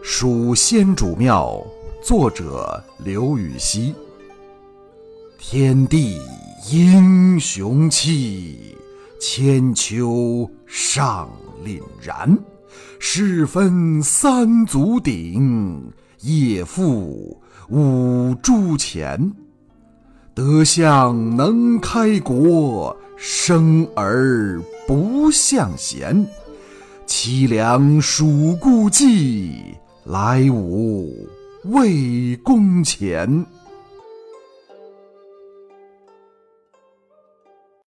蜀先主庙，作者刘禹锡。天地英雄气，千秋尚凛然。世分三足鼎，业负五铢钱。德相能开国，生而不向贤。凄凉属故伎，来吾魏公前。